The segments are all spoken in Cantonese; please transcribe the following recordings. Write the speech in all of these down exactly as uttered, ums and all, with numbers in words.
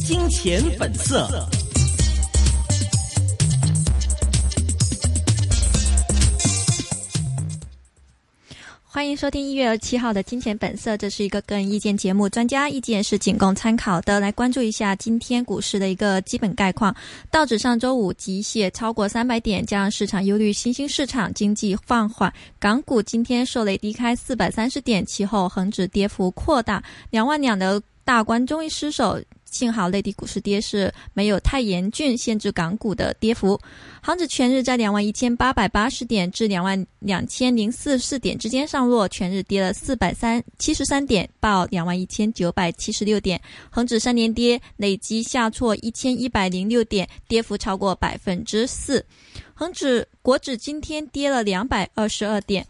金钱本色。 欢迎收听一月二十七号的金钱本色，这是一个个人意见节目，专家意见是仅供参考的。来关注一下今天股市的一个基本概况。道指上周五急泻超过三百点，加上市场忧虑新兴市场经济放缓，港股今天受累低开四百三十点，其后恒指跌幅扩大，两万两的大关终于失守。幸好内地股市跌势没有太严峻，限制港股的跌幅。恒指全日在两万一千八百八十点至两万两千零四十四点之间上落，全日跌了四百七十三点，报两万一千九百七十六点。恒指三连跌，累计下挫一千一百零六点，跌幅超过百分之四。恒指国指今天跌了两百二十二点。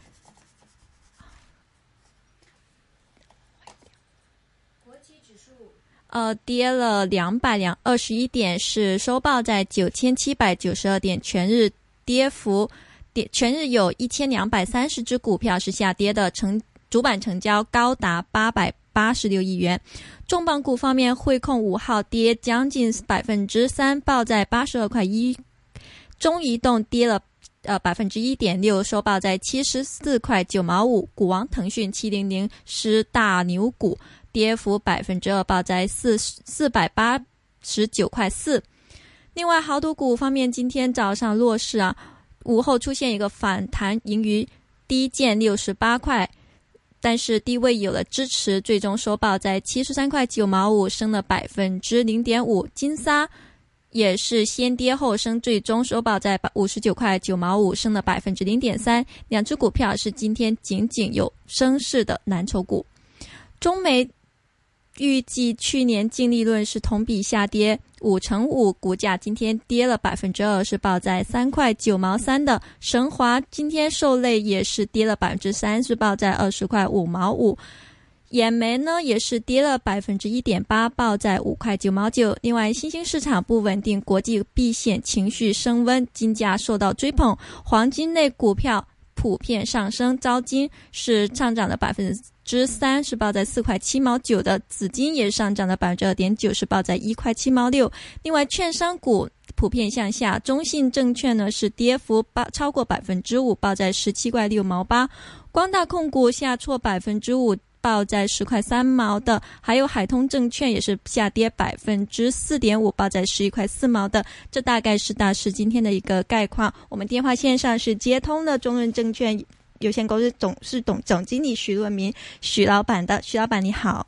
呃，跌了两百二十一点，是收报在九千七百九十二点，全日跌幅，跌全日有一千两百三十只股票是下跌的，成主板成交高达八百八十六亿元。重磅股方面，汇控五号跌将近百分之三，报在八十二块一，中移动跌了。呃，百分之一点六，收报在七十四块九毛五。股王腾讯七零零是大牛股，跌幅百分之二，报在四四百八十九块四。另外，豪赌股方面，今天早上弱势啊，午后出现一个反弹，盈余低见六十八块，但是低位有了支持，最终收报在七十三块九毛五，升了百分之零点五。金沙也是先跌后升，最终收报在五十九块九毛五，升了百分之零点三。两只股票是今天仅仅有升势的蓝筹股。中煤预计去年净利润是同比下跌五成五，股价今天跌了百分之二，是报在三块九毛三的。神华今天受累也是跌了百分之三，是报在二十块五毛五。眼煤呢也是跌了百分之一点八，报在五块九毛九。另外，新兴市场不稳定，国际避险情绪升温，金价受到追捧，黄金类股票普遍上升，招金是上涨了百分之三，是报在四块七毛九的。紫金也上涨了百分之二点九，是报在一块七毛六。另外，券商股普遍向下，中信证券呢是跌幅超过百分之五，报在十七块六毛八。光大控股下挫百分之五。报在十块三毛的，还有海通证券也是下跌百分之四点五，报在十一块四毛的。这大概是大市今天的一个概况。我们电话线上是接通了中润证券有限公司董事总总经理许润民许老板的。许老板你好。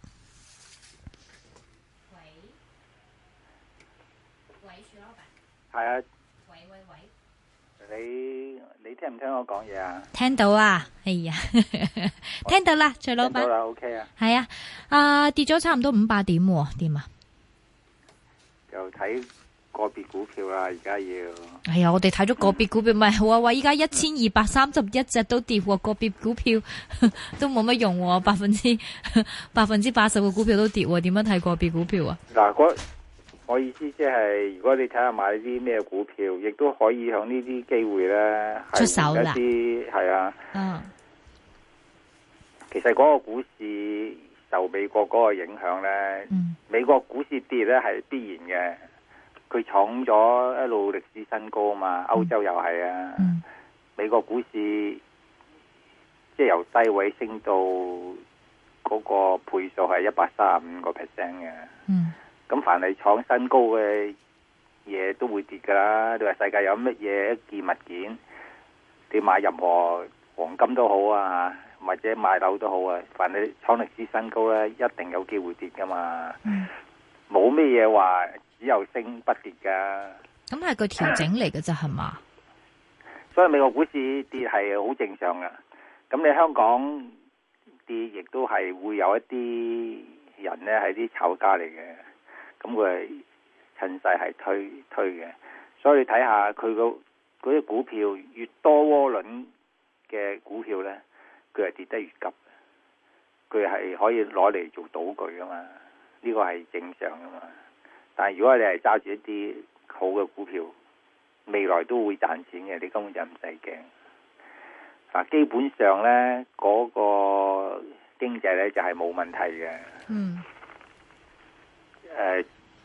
喂喂，许老板。係啊。喂喂喂。你你聽唔聽我講嘢啊？ 聽到啊，哎呀，聽到啦，徐老闆。聽到啦 ，OK 啊。 係啊，啊跌咗差唔多五百點喎，點啊？ 就睇個別股票啦，而家要。 係啊，我哋睇咗個別股票，咪話話依家一千二百三十一隻都跌喎，個別股票都冇乜用喎，百分之百分之八十嘅股票都跌喎，點樣睇個別股票啊？ 嗱，嗰我意思即係，如果你睇下買啲咩股票，亦都可以響呢啲機會咧出手啦。 係啊， 嗯。 其實嗰個股市受美國嗰個影響咧、嗯，美國股市跌咧係必然嘅，佢創咗一路歷史新高啊嘛，歐洲又係啊、嗯，美國股市即係由低位升到嗰個倍數係一百三十五個 percent 嘅。嗯。咁凡係創新高嘅嘢都會跌噶啦。你話世界有乜嘢一件物件，你買任何黃金都好啊，或者買樓都好啊，凡係創歷史新高咧，一定有機會跌噶嘛。冇咩嘢話只有升不跌噶。 咁係個調整嚟嘅啫，係嘛？ 所以美國股市跌係好正常噶。咁你香港跌，亦都係會有一啲人咧係啲炒家嚟嘅。咁佢係趁勢係推推嘅，所以你睇下佢個嗰啲股票越多渦輪嘅股票咧，佢係跌得越急，佢係可以攞嚟做賭具噶嘛，呢個係正常噶嘛。但係如果你係揸住一啲好嘅股票，未來都會賺錢嘅，你根本就唔使驚。嗱，基本上咧嗰個經濟咧就係冇問題嘅。嗯。誒、呃。之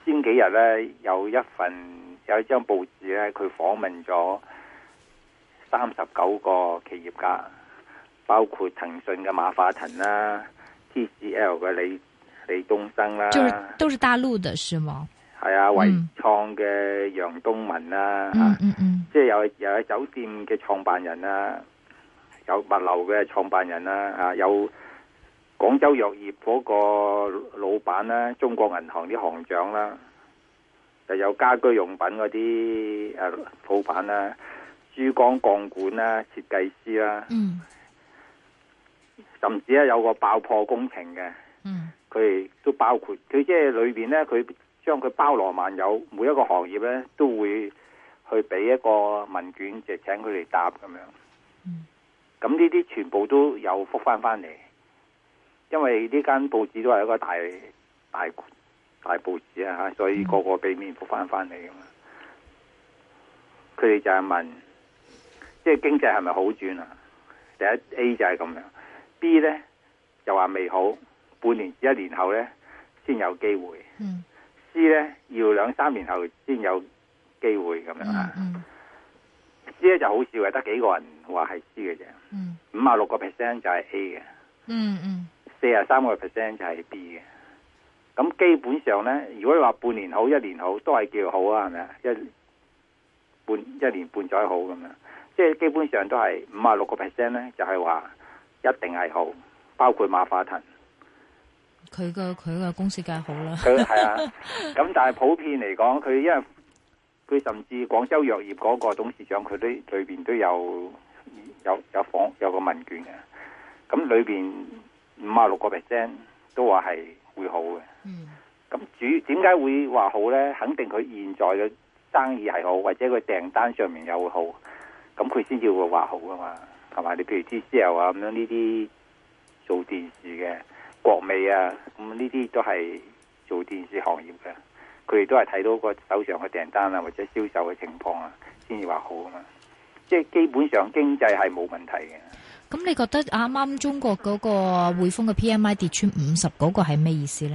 先幾日咧有一份有一張報紙咧，佢訪問咗三十九個企業家，包括騰訊嘅馬化騰啦、T C L 嘅李李東生啦， 就是都是大陸的是嗎？ 係啊，維創嘅楊東文啦， 嗯嗯嗯， 即係有有有酒店嘅創辦人啦，有物流嘅創辦人啦，啊有廣州藥業嗰個老闆啦，中國銀行啲行長啦，就有家居用品嗰啲誒老闆啦，珠江鋼管啦，設計師啦， 嗯， 甚至咧有個爆破工程嘅， 嗯， 佢哋都包括，佢即係裏邊咧佢。將佢包羅萬有，每一個行業咧都會去俾一個問卷，就請佢哋答咁樣。咁呢啲全部都有覆翻翻嚟，因為呢間報紙都係一個大大大報紙啊吓，所以個個俾面覆翻翻嚟噶嘛。佢哋就係問，即係經濟係咪好轉啊？第一 A 就係咁樣 ，B 咧就話未好，半年至一年後咧先有機會。嗯C 咧要兩三年後先有機會咁樣啊、嗯嗯、C 咧就好少嘅，得幾個人話係 C 嘅啫。五啊六個 percent 就係 A 嘅。嗯嗯。四啊三個 percent 就係 B 嘅。咁基本上咧，如果你話半年好、一年好，都係叫好啊，係咪啊？一半一年半載好咁樣，即係基本上都係五啊六個 percent 咧，就係話一定係好，包括馬化騰。 佢個佢個公司梗係好啦， 佢係啊，咁但係普遍嚟講，佢因為佢甚至廣州藥業嗰個董事長，佢都裏邊都有有有訪有個問卷嘅，咁裏邊五啊六個 percent 都話係會好嘅。嗯，咁主點解會話好咧？肯定佢現在嘅生意係好，或者佢訂單上面又會好，咁佢先至會話好噶嘛，係嘛？你譬如 T C L 啊咁樣呢啲做電視嘅。國美啊，咁呢啲都係做電視行業嘅，佢哋都係睇到個手上嘅訂單啊，或者銷售嘅情況啊，先至話好啊嘛。即係基本上經濟係冇問題嘅。 咁你覺得啱啱中國嗰個匯豐嘅 P M I 跌穿五十嗰個係咩意思咧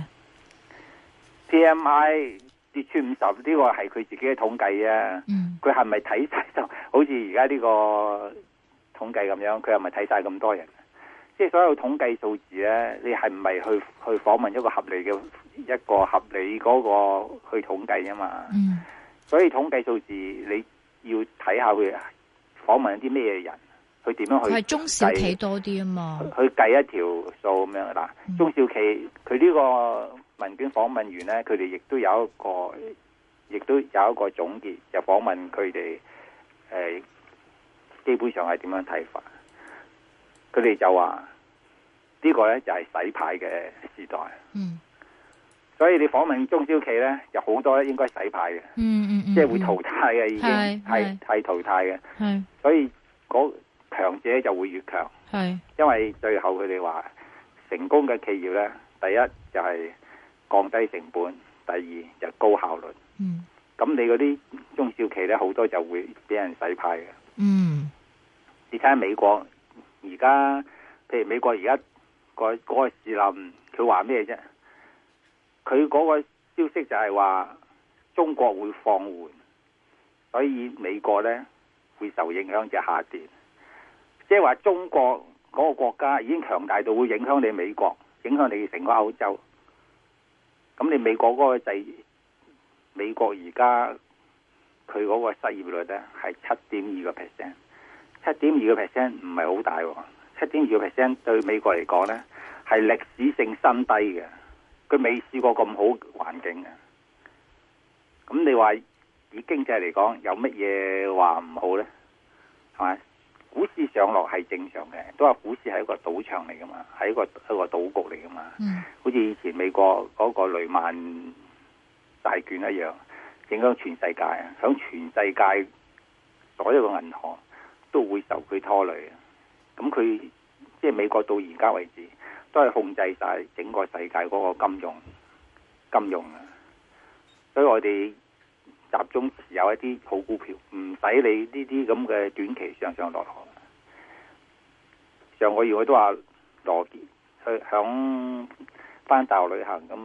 ？P M I 跌穿五十呢個係佢自己嘅統計啊。嗯。佢係咪睇晒就好似而家呢個統計咁樣？佢係咪睇晒咁多人？即係所有統計數字咧，你係唔係去去訪問一個合理嘅一個合理嗰個去統計啊嘛？嗯。所以統計數字你要睇下佢訪問一啲咩人，佢點樣去？佢係中小企多啲啊嘛。去計一條數咁樣嗱，嗯、中小企佢呢個問卷訪問員咧，佢哋亦都有一個，亦都有一個總結，就訪問佢哋誒，基本上係點樣睇法？佢哋就話、這個、呢個咧就係、是、洗牌嘅時代，嗯，所以你訪問中小企咧，有好多咧應該洗牌嘅，嗯嗯嗯，即係會淘汰嘅，已經係係淘汰嘅，係，所以嗰強者就會越強，係，因為最後佢哋話成功嘅企業咧，第一就係降低成本，第二就高效率，嗯，咁你嗰啲中小企咧好多就會俾人洗牌嘅，嗯，你睇下美國。而家，譬如美國而家個嗰個士林，佢話咩啫？佢嗰個消息就係話中國會放緩，所以美國咧會受影響就下跌。即係話中國嗰個國家已經強大到會影響你美國，影響你成個歐洲。咁你美國嗰個制，美國而家佢嗰個失業率咧係七點二個 percent。七點二個 percent 唔係好大喎，七點二個 percent 對美國嚟講咧係歷史性新低嘅，佢未試過咁好環境嘅。咁你話以經濟嚟講，有乜嘢話唔好咧？係咪？股市上落係正常嘅，都話股市係一個賭場嚟噶嘛，係一個一個賭局嚟噶嘛。嗯。好似以前美國嗰個雷曼債券一樣，影響全世界啊！響全世界所有嘅銀行都會受佢拖累。咁佢即係美國到而家為止，都係控制晒整個世界嗰個金融金融啊！所以我哋集中持有一啲好股票，唔使理呢啲咁嘅短期上上落落。上個月我都話羅傑去響翻大陸旅行，咁啊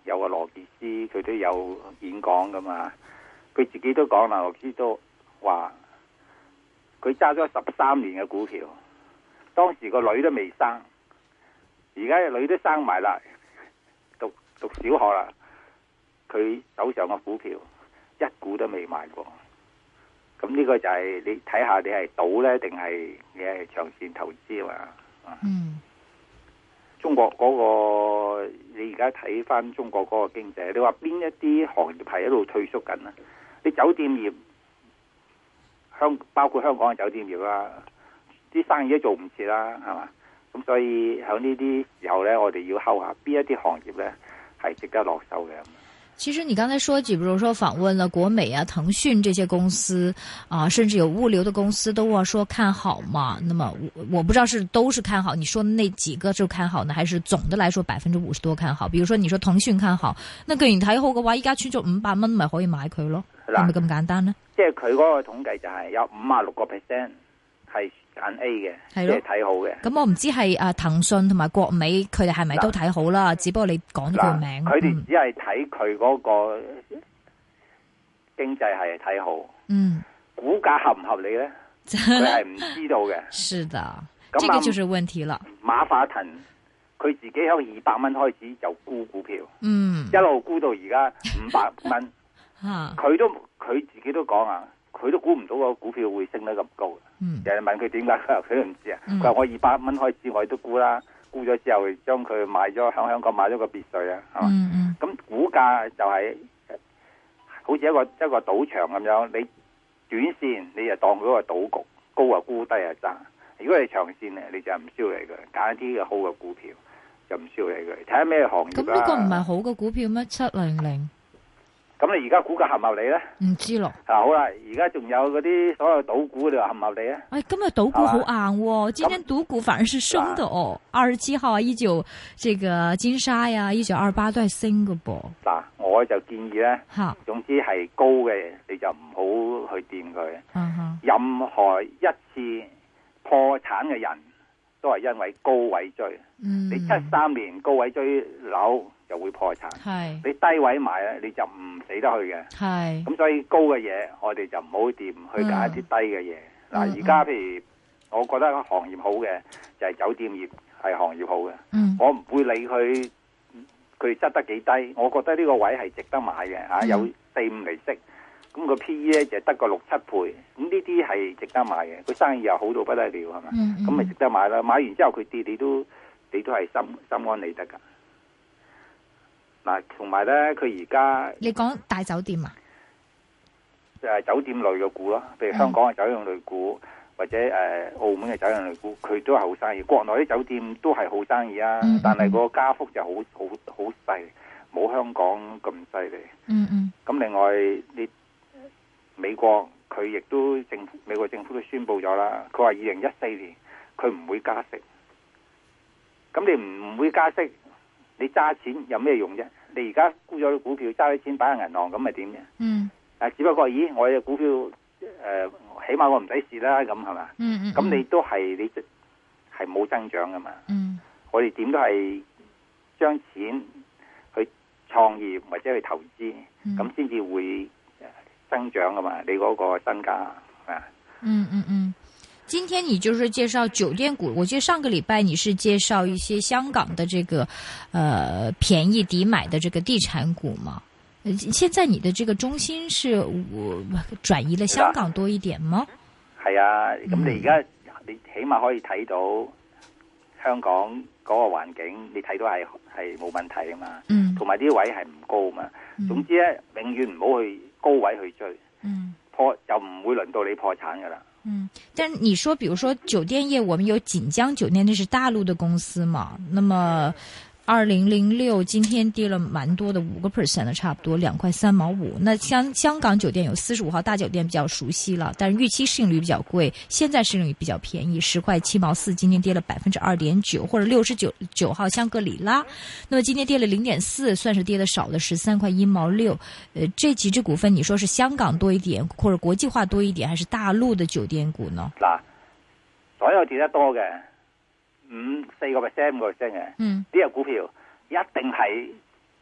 有個羅傑斯，佢都有演講噶嘛。佢自己都講啦，羅傑斯都話佢揸咗十三年嘅股票，當時個女都未生，而家個女都生埋啦，讀讀小學啦。佢手上嘅股票一股都未買過。咁呢個就係你睇下，你係賭咧，定係你係長線投資啊？ 嗯， 中國嗰個你而家睇翻中國嗰個經濟，你話邊一啲行業係喺度退縮緊啊？你酒店業，香包括香港嘅酒店業啦，啲生意都做唔切啦，係嘛？咁所以喺呢啲時候咧，我哋要睺下邊一啲行業咧係值得落手嘅。 其實你剛才說，比如說訪問了國美啊、騰訊這些公司啊，甚至有物流的公司都話說看好嘛。那麼我我不知道是都是看好，你說的那幾個就看好呢，還是總的來說百分之五十多看好？比如說你說騰訊看好，那既然睇好嘅話，依家穿咗五百蚊，咪可以買佢咯？係咪咁簡單呢？ 即係佢嗰個統計就係有五啊六個 percent 係揀 A 嘅，即係睇好嘅。 咁我唔知係啊騰訊同埋國美佢哋係咪都睇好啦？只不過你講咗佢名， 佢哋只係睇佢嗰個經濟係睇好。嗯，股價合唔合理咧？佢係唔知道嘅。 是的，這個就是問題啦。 馬化騰佢自己喺二百蚊開始就沽股票，嗯，一路沽到而家五百蚊。吓，佢都佢自己都講啊。佢都估唔到個股票會升得咁高，嗯、人哋問佢點解，佢都唔知啊。佢話、嗯、我二百蚊開始我都估啦，估咗之後將佢買咗喺香港買咗個別墅啊，係嘛？咁、嗯、股價就係、是、好似一個一個賭場咁樣，你短線你就當佢個賭局，高啊沽，低啊揸。如果你長線咧，你就唔需要嚟嘅，揀一啲嘅好嘅股票就唔需要嚟嘅。睇下咩行業啦。咁呢個唔係好嘅股票咩？七零零。咁你而家股價合唔合理咧？唔知咯。啊好啦，而家仲有嗰啲所有賭股，你話合唔合理啊？哎，今日賭股好硬喎，今天賭股反而是升的哦。二十七號啊，一九這個金沙呀，一九二八都係升嘅噃。嗱，我就建議咧，吓，總之係高嘅你就唔好去掂佢。嗯哼。任何一次破產嘅人都係因為高位追。嗯。你七三年高位追樓就會破產。係。你低位買咧，你就唔死得去嘅。係。咁所以高嘅嘢，我哋就唔好掂，去揀一啲低嘅嘢。嗱、嗯，而家譬如我覺得行業好嘅就係、是、酒店業係行業好嘅。嗯。我唔會理佢佢執得幾低，我覺得呢個位係值得買嘅嚇、嗯，有四五厘息。咁個 P E 咧就得個六七倍，咁呢啲係值得買嘅。佢生意又好到不得了，係嘛？咁咪、嗯嗯、值得買啦。買完之後佢跌，你都你都係心心安理得噶。嗱，同埋咧，佢而家你講大酒店啊，就係酒店類嘅股咯，譬如香港嘅酒店類股，嗯、或者誒、呃、澳門嘅酒店類股，佢都係好生意。國內啲酒店都係好生意啊，嗯嗯、但係個加幅就好好好細，冇香港咁犀利。嗯嗯。咁另外你。美國佢亦都政府，美國政府都宣布咗啦。佢話二零一四年佢唔會加息。咁你唔會加息，你揸錢有咩用啫？你而家沽咗啲股票，揸啲錢擺喺銀行，咁咪點啫？嗯。啊，只不過咦，我嘅股票誒、呃，起碼我唔使蝕啦，咁係嘛？嗯嗯。咁你都係你係冇增長噶嘛？嗯。我哋點都係將錢去創業或者去投資，咁先至會。增長噶嘛？你嗰個身價啊？嗯嗯嗯。今天你就是介紹酒店股，我記得上個禮拜你是介紹一些香港的這個，呃，便宜抵買的這個地產股嘛？現在你的這個中心是我轉移了香港多一點嗎？係啊，咁你而家你起碼可以睇到香港嗰個環境，你睇到係係冇問題啊嘛。嗯。同埋啲位係唔高嘛。嗯。總之咧，永遠唔好去高位去追，嗯，破就唔會輪到你破產噶啦。嗯，但係你說，比如說酒店業，我們有錦江酒店，那是大陸的公司嘛？那麼二零零六今天跌了蠻多的，五個 percent 的，差不多兩塊三毛五。那香香港酒店有四十五號大酒店比較熟悉了，但是預期市盈率比較貴，現在市盈率比較便宜，十塊七毛四，今天跌了百分之二點九，或者六十九九號香格里拉，那麼今天跌了零點四，算是跌得少的十三塊一毛六。呃，這幾隻股份，你說是香港多一點，或者國際化多一點，還是大陸的酒店股呢？嗱，所有跌得多嘅。五四個 percent 五個 percent 嘅，呢隻股票一定係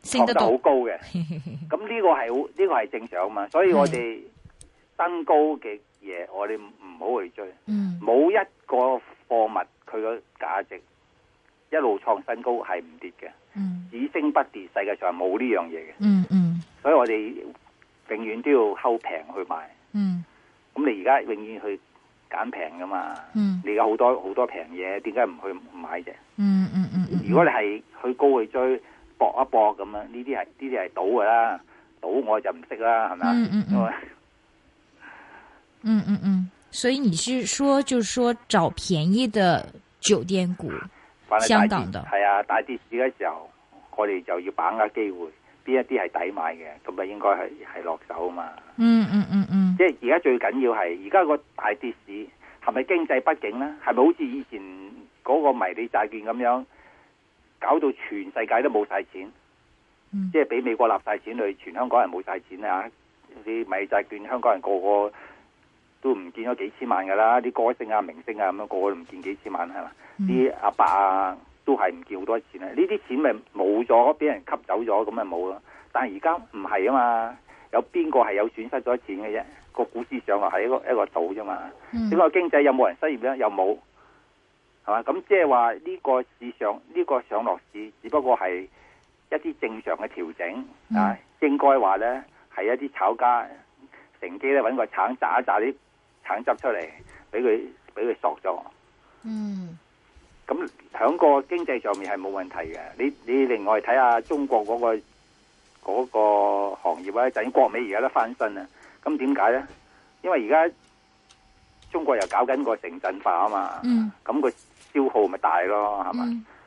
升得好高嘅。咁呢個係好呢個係正常啊嘛，所以我哋新高嘅嘢，我哋唔好去追。冇、嗯、一個貨物佢個價值一路創新高係唔跌嘅，嗯、只升不跌，世界上冇呢樣嘢嘅。嗯嗯，所以我哋永遠都要睺平去買。嗯，咁你而家永遠去揀平噶嘛？嗯，你而家好多好多平嘢，點解唔去買啫？嗯嗯嗯，如果你係去高去追搏一搏咁樣，呢啲係呢啲係賭噶啦，賭我就唔識啦，係咪啊？嗯嗯嗯， 嗯嗯嗯，所以你是說，就是說找便宜的酒店股，香港的係啊，大跌市嘅時候，我哋就要把握機會。邊一啲係抵買嘅，咁啊應該係係落手啊嘛。嗯嗯嗯嗯。即係而家最緊要係，而家個大跌市係咪經濟不景咧？係咪好似以前嗰個迷你債券咁樣，搞到全世界都冇晒錢？嗯、即係俾美國納晒錢去，全香港人冇晒錢啊！啲迷你債券，香港人個個都唔見咗幾千萬噶啦，啲歌星啊、明星啊咁樣，個個都唔見幾千萬係嘛？啲、嗯、阿伯啊。都係唔見好多錢啊！呢啲錢咪冇咗，俾人吸走咗，咁咪冇咯。但係而家唔係啊嘛，有邊個係有損失咗錢嘅啫？個股市上落係一個一個島啫嘛。整個、嗯、經濟有冇人失業咧？又冇，係嘛？咁即係話呢個市上呢、呢個上落市，只不過係一啲正常嘅調整、嗯、啊。應該話咧係一啲炒家乘機咧揾個橙榨一榨啲橙汁出嚟，俾佢俾佢索咗。嗯。咁喺個經濟上面係冇問題嘅。你你另外睇下中國嗰、嗰個嗰、嗰個行業咧，就係國美而家都翻身啦。咁點解咧？因為而家中國又搞緊個城鎮化啊嘛。嗯。咁個消耗咪大咯，係嘛？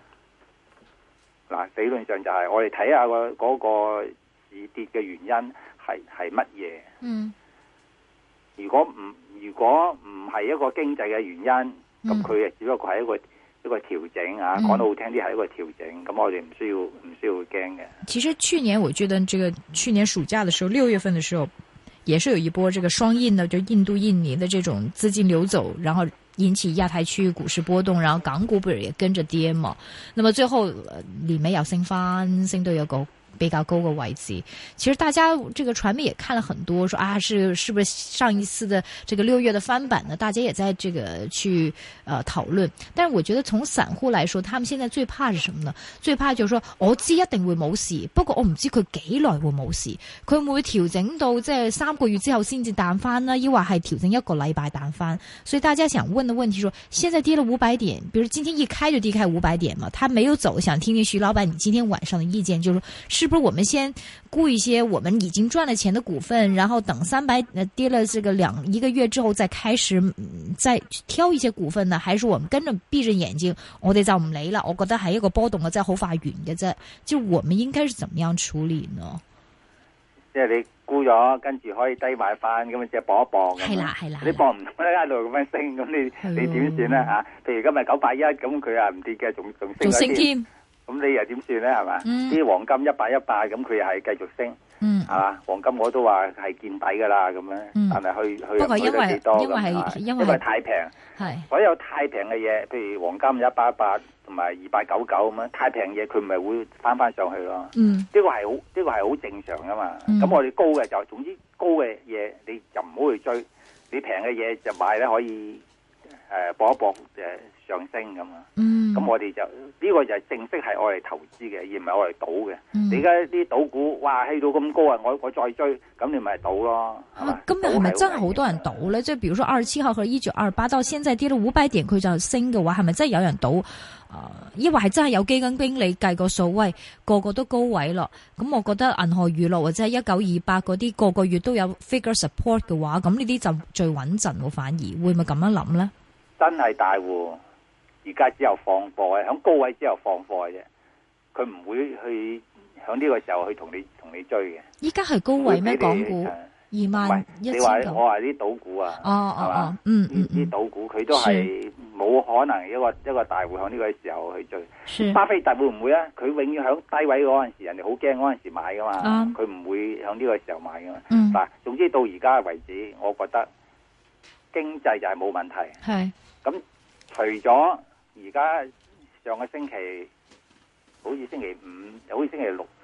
嗱、嗯，理論上就係我哋睇下個嗰個市跌嘅原因係係乜嘢？嗯。如果唔如果唔係一個經濟嘅原因，咁佢誒只不過係一個。一個調整啊，講得好聽啲係一個調整，咁、嗯、我哋唔需要唔需要驚嘅。 其實去年我覺得，這個去年暑假的時候，六月份的時候，也是有一波這個雙印的，就印度、印尼的這種資金流走，然後引起亞太區域股市波動，然後港股不是也跟着跌嘛？那麼最後年尾又升翻，升到有個比較高嘅位置。其實大家這個傳媒也看了很多，說啊，是是不是上一次的這個六月的翻版呢？大家也在這個去呃討論。但是我覺得從散戶來說，他們現在最怕是什麼呢？最怕就是說我知一定會冇事，不過我唔知佢幾耐會冇事，佢會唔會調整到即係三個月之後先至彈翻呢？抑或係調整一個禮拜彈翻？所以大家想問的問題說，現在跌了五百點，比如今天一開就跌開五百點嘛，他沒有走，想聽聽徐老闆你今天晚上的意見，就是說是不是我們先沽一些我們已經賺了錢的股份，然後等三百跌了這個兩一個月之後再開始、嗯、再挑一些股份呢？還是我們跟着閉着眼睛，我哋就唔理啦？我覺得係一個波動嘅，真係好快完嘅啫。就我們應該是怎麼樣處理呢？ 即係你沽咗，跟住可以低買翻，咁即係搏一搏。 係啦係啦， 你搏唔到咧，一路咁樣升，咁你你點算咧吓？譬如今日九百一，咁佢啊唔跌嘅，仲仲升。仲升添。咁你又點算咧？係嘛？啲、嗯、黃金一百一百，咁佢又係繼續升，係、嗯、嘛？黃金我都話係見底噶啦，咁樣，嗯、但係去去不過因為去多因為係因為太平， 係所有太平嘅嘢，譬如黃金一百一百同埋二百九九咁樣，太平嘢佢咪會翻翻上去咯。嗯，呢個係好呢個係好正常噶嘛。咁、嗯、我哋高嘅就總之高嘅嘢你就唔好去追，你平嘅嘢就買咧可以誒搏、呃、一搏誒上升咁啊。嗯。咁我哋就呢、這個就係正式係我哋投資嘅，而唔係我哋賭嘅。嗯、你而家啲賭股，哇，去到咁高啊！我我再追，咁你咪賭咯。 啊，今日係咪真係好多人賭咧？即係，比如說二十七號和一九二八到現在跌到五百點，佢就升嘅話，係咪真係有人賭？啊、呃，抑或係真係有基金經理計個數，喂，個個都高位咯。咁我覺得銀河娛樂或者係一九二八嗰啲，個個月都有 figure support 嘅話，咁呢啲就最穩陣喎。反而會唔會咁樣諗咧？ 真係大戶。而家只有放貨嘅，響高位之後放貨嘅啫，佢唔會去響呢個時候去同你同你追嘅。依家係高位咩？港股二萬一千九。你話我話啲賭股啊， 哦哦哦，嗯嗯， 啲賭股佢都係冇可能一個一個大戶響呢個時候去追。巴菲特會唔會啊？佢永遠響低位嗰陣時，人哋好驚嗰陣時買噶嘛，佢唔會響呢個時候買噶嘛。嗱，總之到而家為止，我覺得經濟就係冇問題。係咁，除咗而家上個星期，好似星期五，好似星期六，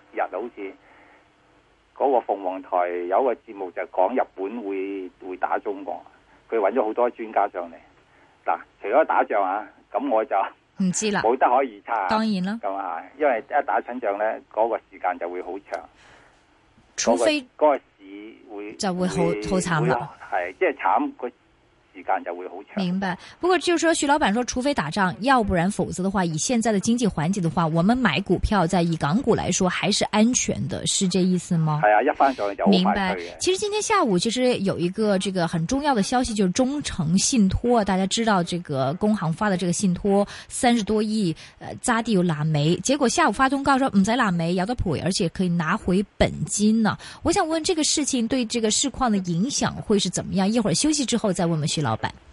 日好似嗰個鳳凰台有一個節目就講日本會會打中國，佢揾咗好多專家上嚟。嗱，除咗打仗啊，咁我就唔知啦， 冇得可以猜。 當然啦， 咁啊，因為一打親仗咧，嗰、那個時間就會好長， 除非嗰、那個那個市會就會好好慘啦， 係即係慘個時間就會好長。 明白。不過就是說徐老闆說除非打仗，要不然否則的話，以現在的經濟環境的話，我們買股票在以港股來說還是安全的，是這意思嗎？ 係啊，一翻上去就好快退嘅。 明白。其實今天下午其實有一個這個很重要的消息，就是中誠信託，大家知道這個工行發的這個信託三十多億，呃，揸啲要爛尾，結果下午發通告說唔使爛尾，有得賠，而且可以拿回本金呢。我想問這個事情對這個市況的影響會是怎麼樣？一會兒休息之後再問問徐老闆。